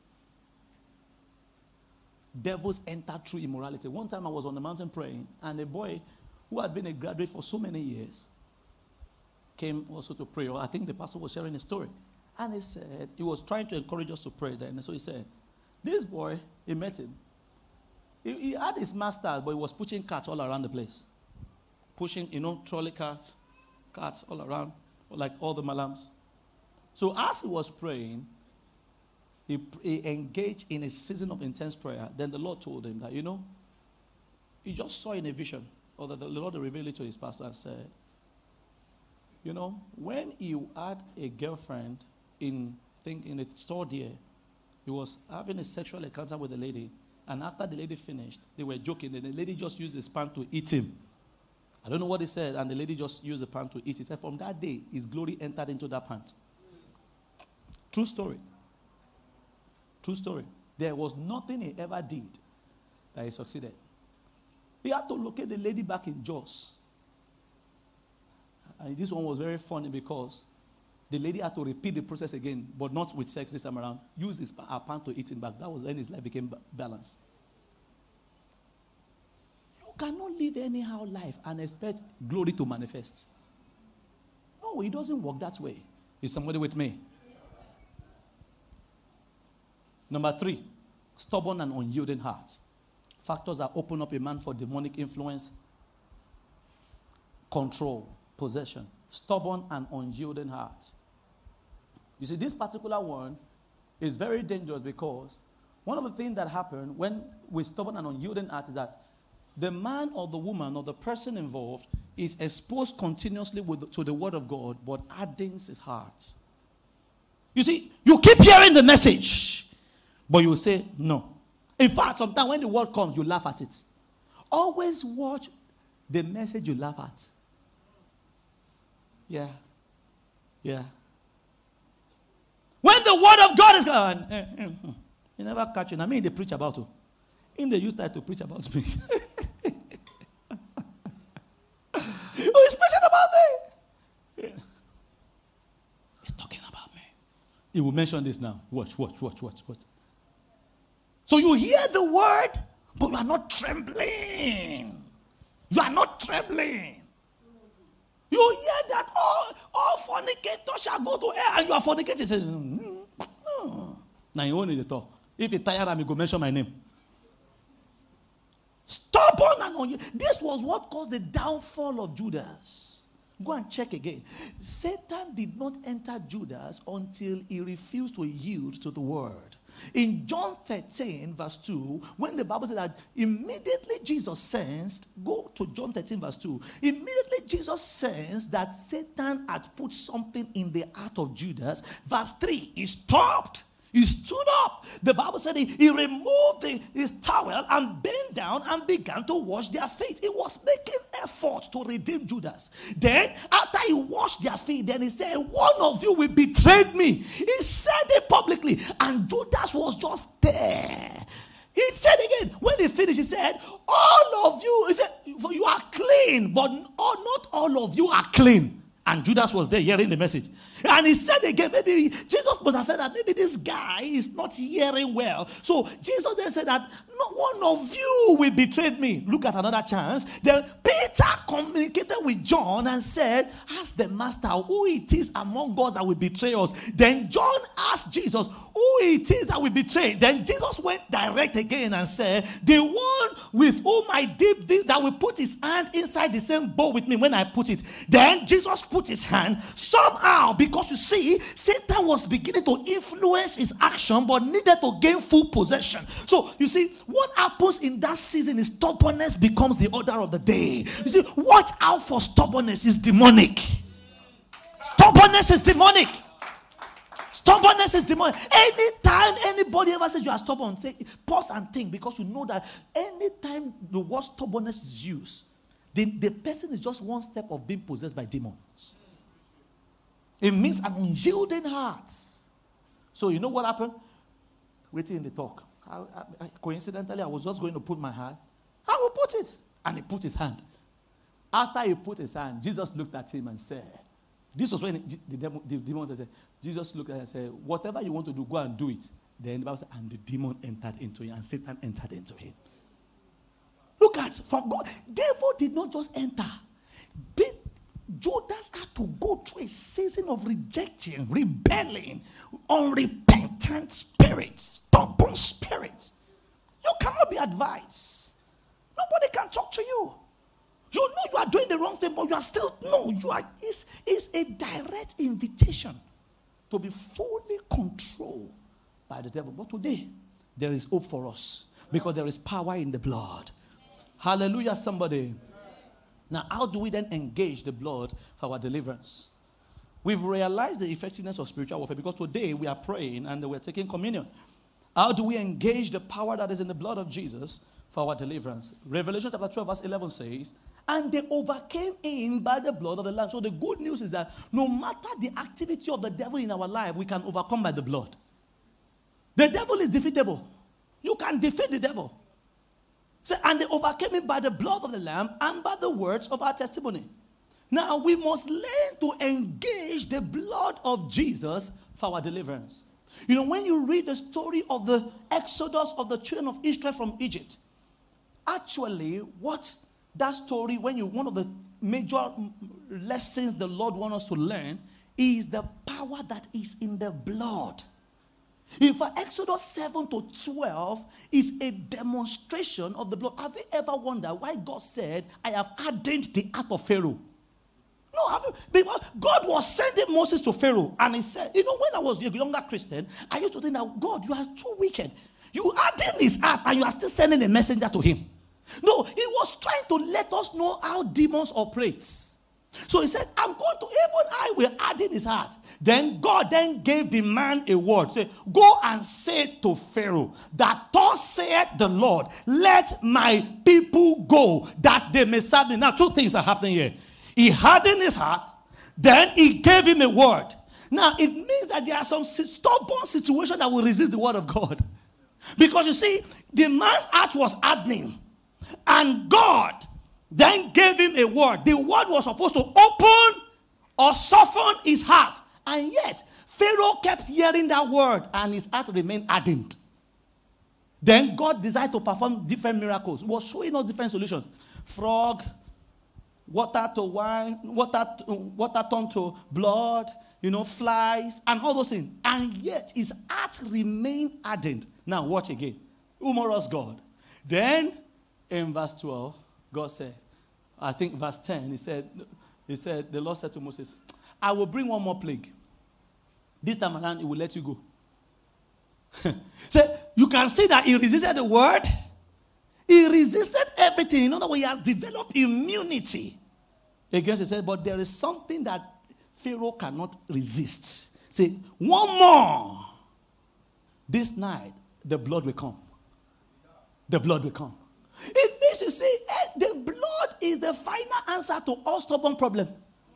Devils enter through immorality. One time I was on the mountain praying, and a boy who had been a graduate for so many years came also to pray. Or I think the pastor was sharing a story. And he said, he was trying to encourage us to pray then. And so he said, this boy, he met him. He, he had his master, but he was pushing cats all around the place. Pushing, you know, trolley cats, cats all around, like all the malams. So as he was praying, he, he engaged in a season of intense prayer. Then the Lord told him that, you know, he just saw in a vision, or that the Lord revealed it to his pastor and said, you know, when you had a girlfriend in, think, in a store there, he was having a sexual encounter with a lady, and after the lady finished, they were joking, and the lady just used his pan to eat him. I don't know what he said, and the lady just used the pan to eat. He said, from that day, his glory entered into that pant. True story. True story. There was nothing he ever did that he succeeded. He had to locate the lady back in Jos. And this one was very funny because the lady had to repeat the process again, but not with sex this time around. Use his her pan to eat him back. That was when his life became balanced. You cannot live anyhow life and expect glory to manifest. No, it doesn't work that way. Is somebody with me? Number three, stubborn and unyielding heart. Factors that open up a man for demonic influence, control, possession. Stubborn and unyielding heart. You see, this particular one is very dangerous because one of the things that happen when we're stubborn and unyielding heart is that the man or the woman or the person involved is exposed continuously with, to the word of God, but hardens his heart. You see, you keep hearing the message, but you say no. In fact, sometimes when the word comes, you laugh at it. Always watch the message you laugh at. Yeah. Yeah. When the word of God is going, eh, eh, eh, you never catch it. I mean, they preach about you. In the you start to preach about me. Oh, he's preaching about me. Yeah. He's talking about me. He will mention this now. Watch, watch, watch, watch, watch. So you hear the word, but you are not trembling. You are not trembling. You hear that all, all fornicators shall go to hell, and you are fornicating. You say, mm, no. Now you only the talk. If you tired of me, go mention my name. Stubborn and on you. This was what caused the downfall of Judas. Go and check again. Satan did not enter Judas until he refused to yield to the word. In John thirteen, verse two, when the Bible said that immediately Jesus sensed, go to John thirteen, verse two, immediately Jesus sensed that Satan had put something in the heart of Judas. Verse three, he stopped. He stood up. The Bible said he, he removed the, his towel and bent down and began to wash their feet. He was making effort to redeem Judas. Then, after he washed their feet, then he said, one of you will betray me. He said it publicly. And Judas was just there. He said again, when he finished, he said, all of you, he said, for you are clean, but not all of you are clean. And Judas was there hearing the message. And he said again, maybe Jesus must have felt that maybe this guy is not hearing well. So Jesus then said that no one of you will betray me. Look at another chance. Then Peter communicated with John and said, ask the master who it is among us that will betray us. Then John asked Jesus who it is that will betray. Then Jesus went direct again and said, the one with whom I dip this, that will put his hand inside the same bowl with me when I put it. Then Jesus put his hand somehow, because you see, Satan was beginning to influence his action but needed to gain full possession. So you see, what happens in that season is stubbornness becomes the order of the day. You see, watch out for stubbornness. Is demonic. Stubbornness is demonic. Stubbornness is demonic. Anytime anybody ever says you are stubborn, say pause and think, because you know that anytime the word stubbornness is used, the, the person is just one step of being possessed by demons. It means an unyielding heart. So you know what happened? Waiting in the talk. I, I, coincidentally, I was just going to put my hand. I will put it. And he put his hand. After he put his hand, Jesus looked at him and said, this was when the demon, the demon said, Jesus looked at him and said, whatever you want to do, go and do it. Then the Bible said, and the demon entered into him, and Satan entered into him. Look at, from God, devil did not just enter. But Judas had to go through a season of rejecting, rebelling, unrepentant spirits, stubborn spirits. You cannot be advised. Nobody can talk to you. You know you are doing the wrong thing, but you are still, no, you are, it's, it's a direct invitation to be fully controlled by the devil. But today, there is hope for us because there is power in the blood. Hallelujah, somebody. Now, how do we then engage the blood for our deliverance? We've realized the effectiveness of spiritual warfare because today we are praying and we're taking communion. How do we engage the power that is in the blood of Jesus for our deliverance? Revelation chapter twelve verse eleven says, and they overcame him by the blood of the Lamb. So the good news is that no matter the activity of the devil in our life, we can overcome by the blood. The devil is defeatable. You can defeat the devil. So, and they overcame him by the blood of the Lamb and by the words of our testimony. Now we must learn to engage the blood of Jesus for our deliverance. You know, when you read the story of the exodus of the children of Israel from Egypt, actually, what that story, when you, one of the major lessons the Lord wants us to learn is the power that is in the blood. In fact, Exodus seven to twelve is a demonstration of the blood. Have you ever wondered why God said, I have hardened the heart of Pharaoh? No, have you? Because God was sending Moses to Pharaoh, and he said, you know, when I was a younger Christian, I used to think that, God, you are too wicked. You hardened his heart, and you are still sending a messenger to him. No, he was trying to let us know how demons operate. So he said, I'm going to, even I will add in his heart. Then God then gave the man a word. Say, go and say to Pharaoh, that thus saith the Lord, let my people go, that they may serve me. Now, two things are happening here. He hardened his heart, then he gave him a word. Now, it means that there are some stubborn situations that will resist the word of God. Because you see, the man's heart was hardening. And God then gave him a word. The word was supposed to open or soften his heart. And yet, Pharaoh kept hearing that word and his heart remained hardened. Then God decided to perform different miracles. He was showing us different solutions. Frog, water to wine, water, water turned to blood, you know, flies, and all those things. And yet, his heart remained hardened. Now, watch again. Humorous God. Then, in verse twelve, God said, I think verse ten, he said, he said, the Lord said to Moses, I will bring one more plague. This time around, he will let you go. So, you can see that he resisted the word. He resisted everything. In other words, he has developed immunity against it. He said, but there is something that Pharaoh cannot resist. Say, one more. This night, the blood will come. The blood will come. It means you see, the blood is the final answer to all stubborn problems.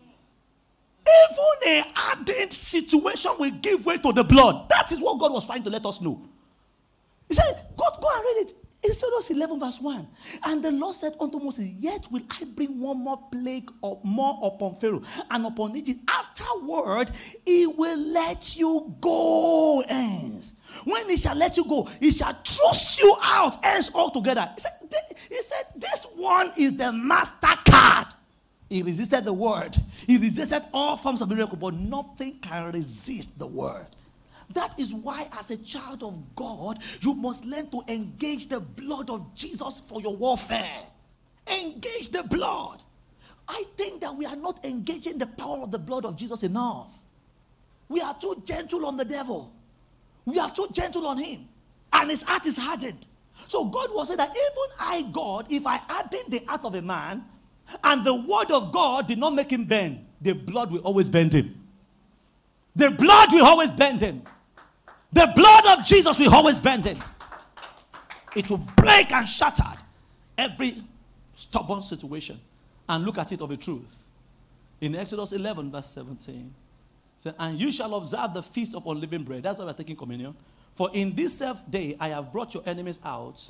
Even a hardened situation will give way to the blood. That is what God was trying to let us know. He said, God, go and read it. Exodus eleven verse one. And the Lord said unto Moses, yet will I bring one more plague or more upon Pharaoh and upon Egypt. Afterward, he will let you go hence. When he shall let you go, he shall thrust you out hence altogether. He said, he said, this one is the master card. He resisted the word. He resisted all forms of miracle, but nothing can resist the word. That is why, as a child of God, you must learn to engage the blood of Jesus for your warfare. Engage the blood. I think that we are not engaging the power of the blood of Jesus enough. We are too gentle on the devil. We are too gentle on him. And his heart is hardened. So God was saying that even I, God, if I harden the heart of a man, and the word of God did not make him bend, the blood will always bend him. The blood will always bend him. The blood of Jesus will always bend him. It will break and shatter every stubborn situation. And look at it of a truth. In Exodus eleven verse seventeen. It said, and you shall observe the feast of unleavened bread. That's why we're taking communion. For in this self day I have brought your enemies out.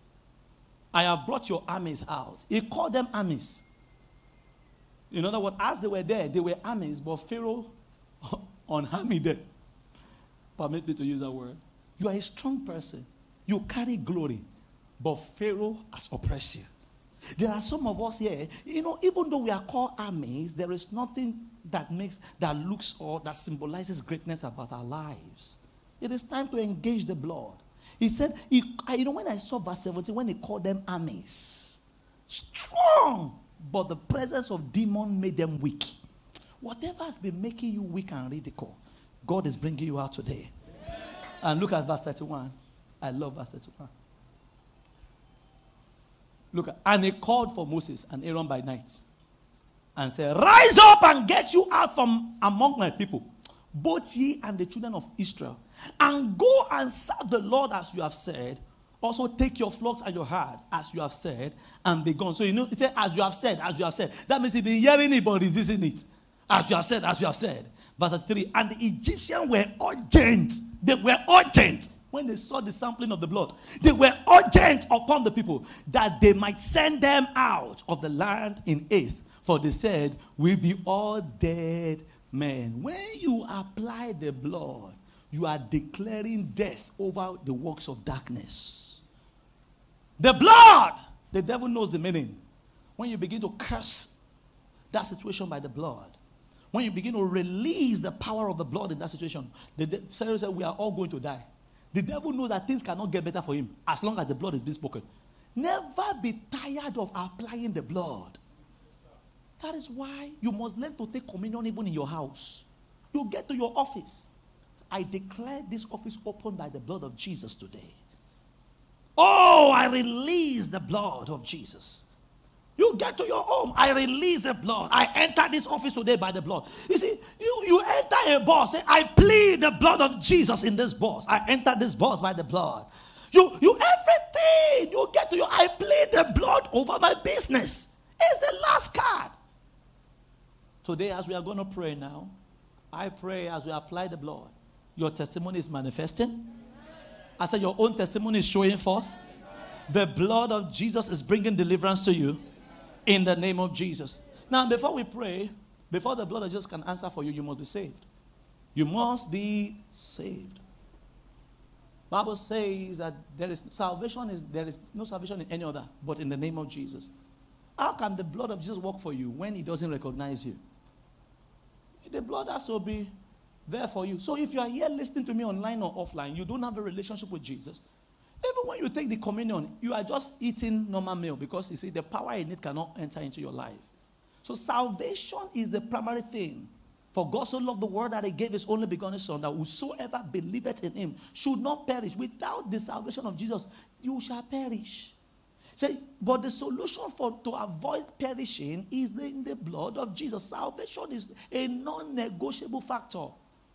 I have brought your armies out. He called them armies. In other words, as they were there, they were armies, but Pharaoh unarmed them. Permit me to use that word. You are a strong person. You carry glory. But Pharaoh has oppressed you. There are some of us here, you know, even though we are called armies, there is nothing that makes, that looks or that symbolizes greatness about our lives. It is time to engage the blood. He said, he, I, you know, when I saw verse seventeen, when he called them armies, strong, but the presence of demon made them weak. Whatever has been making you weak and ridicule, God is bringing you out today. Yeah. And look at verse thirty-one. I love verse thirty-one. Look at, and he called for Moses and Aaron by night and said, rise up and get you out from among my people, both ye and the children of Israel, and go and serve the Lord as you have said. Also take your flocks and your herd as you have said, and be gone. So you know, he said, as you have said, as you have said. That means he's been hearing it but resisting it. As you have said, as you have said. Verse three, and the Egyptians were urgent. They were urgent when they saw the sampling of the blood. They were urgent upon the people that they might send them out of the land in haste. For they said, we be all dead men. When you apply the blood, you are declaring death over the works of darkness. The blood, the devil knows the meaning. When you begin to curse that situation by the blood, when you begin to release the power of the blood in that situation, the de- said we are all going to die. The devil knows that things cannot get better for him as long as the blood is being spoken. Never be tired of applying the blood. That is why you must learn to take communion even in your house. You get to your office. I declare this office open by the blood of Jesus today. Oh, I release the blood of Jesus. You get to your home, I release the blood. I enter this office today by the blood. You see, you, you enter a boss, say, I plead the blood of Jesus in this boss. I enter this boss by the blood. You, you, everything, you get to your, I plead the blood over my business. It's the last card. Today, as we are going to pray now, I pray as we apply the blood, your testimony is manifesting. I said your own testimony is showing forth. The blood of Jesus is bringing deliverance to you. In the name of Jesus. Now, before we pray, before the blood of Jesus can answer for you, you must be saved. You must be saved. Bible says that there is salvation is there is no salvation in any other, but in the name of Jesus. How can the blood of Jesus work for you when he doesn't recognize you? The blood has to be there for you. So if you are here listening to me online or offline, you don't have a relationship with Jesus. Even when you take the communion, you are just eating normal meal because you see the power in it cannot enter into your life. So salvation is the primary thing. For God so loved the world that he gave his only begotten son, that whosoever believeth in him should not perish. Without the salvation of Jesus, you shall perish. Say, but the solution for to avoid perishing is in the blood of Jesus. Salvation is a non-negotiable factor.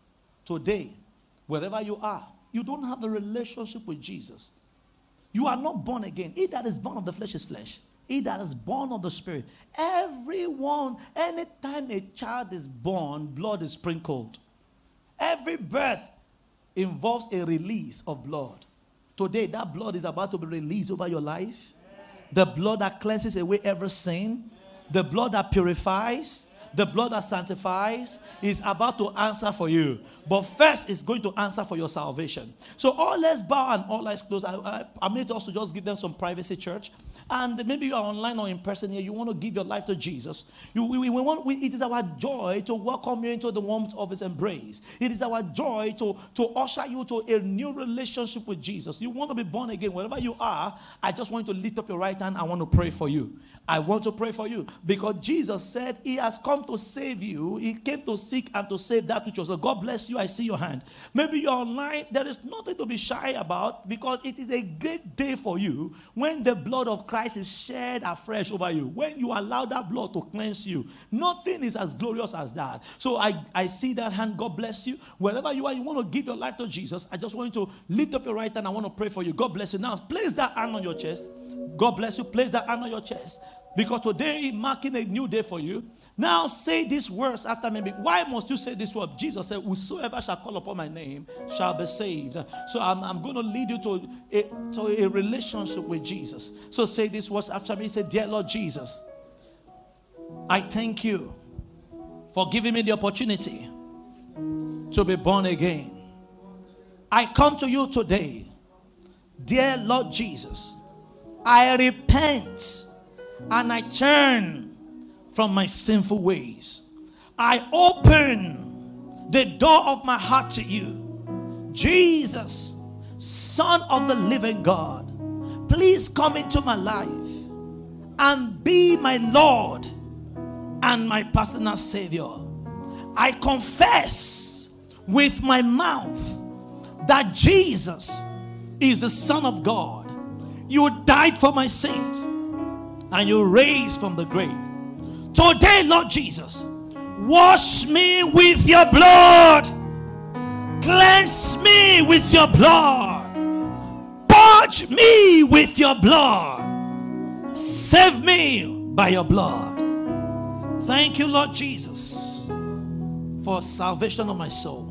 Today, wherever you are, you don't have a relationship with Jesus. You are not born again. He that is born of the flesh is flesh. He that is born of the spirit. Everyone, anytime a child is born, blood is sprinkled. Every birth involves a release of blood. Today, that blood is about to be released over your life. The blood that cleanses away every sin. The blood that purifies. The blood that sanctifies is about to answer for you. But first, it's going to answer for your salvation. So all let's bow and all eyes closed. I, I, I made also just give them some privacy, church. And maybe you are online or in person here. You want to give your life to Jesus. You, we, we want, we, it is our joy to welcome you into the warmth of his embrace. It is our joy to, to usher you to a new relationship with Jesus. You want to be born again. Wherever you are, I just want you to lift up your right hand. I want to pray for you. I want to pray for you. Because Jesus said he has come to save you. He came to seek and to save that which was. So God bless you. I see your hand. Maybe you're online. There is nothing to be shy about, because it is a great day for you when the blood of Christ is shed afresh over you. When you allow that blood to cleanse you, nothing is as glorious as that. So I, I see that hand. God bless you. Wherever you are, you want to give your life to Jesus. I just want you to lift up your right hand. I want to pray for you. God bless you. Now, place that hand on your chest. God bless you. Place that hand on your chest. Because today is marking a new day for you. Now say these words after me. Why must you say this word? Jesus said, whosoever shall call upon my name shall be saved. So I'm, I'm going to lead you to a, to a relationship with Jesus. So say these words after me. Say, dear Lord Jesus, I thank you for giving me the opportunity to be born again. I come to you today. Dear Lord Jesus, I repent and I turn from my sinful ways. I open the door of my heart to you. Jesus, Son of the living God, please come into my life and be my Lord and my personal Savior. I confess with my mouth that Jesus is the Son of God. You died for my sins and you raised from the grave. Today, Lord Jesus, wash me with your blood. Cleanse me with your blood. Purge me with your blood. Save me by your blood. Thank you, Lord Jesus, for salvation of my soul.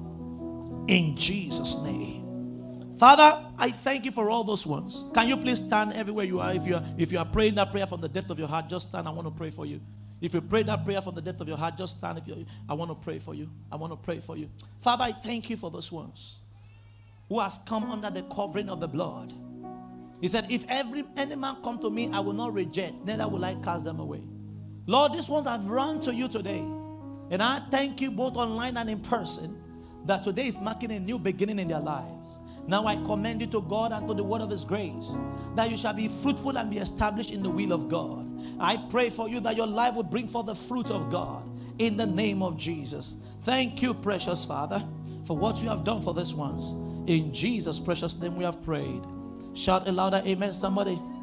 In Jesus' name. Father, I thank you for all those ones. Can you please stand everywhere you are? If you are, if you are praying that prayer from the depth of your heart, just stand. I want to pray for you. If you pray that prayer from the depth of your heart, just stand. If you, I want to pray for you. I want to pray for you. Father, I thank you for those ones who has come under the covering of the blood. He said, if every any man come to me, I will not reject, neither will I cast them away. Lord, these ones have run to you today. And I thank you both online and in person that today is marking a new beginning in their lives. Now I commend you to God and to the word of his grace, that you shall be fruitful and be established in the will of God. I pray for you that your life will bring forth the fruit of God in the name of Jesus. Thank you, precious Father, for what you have done for these ones. In Jesus' precious name we have prayed. Shout a louder amen, somebody.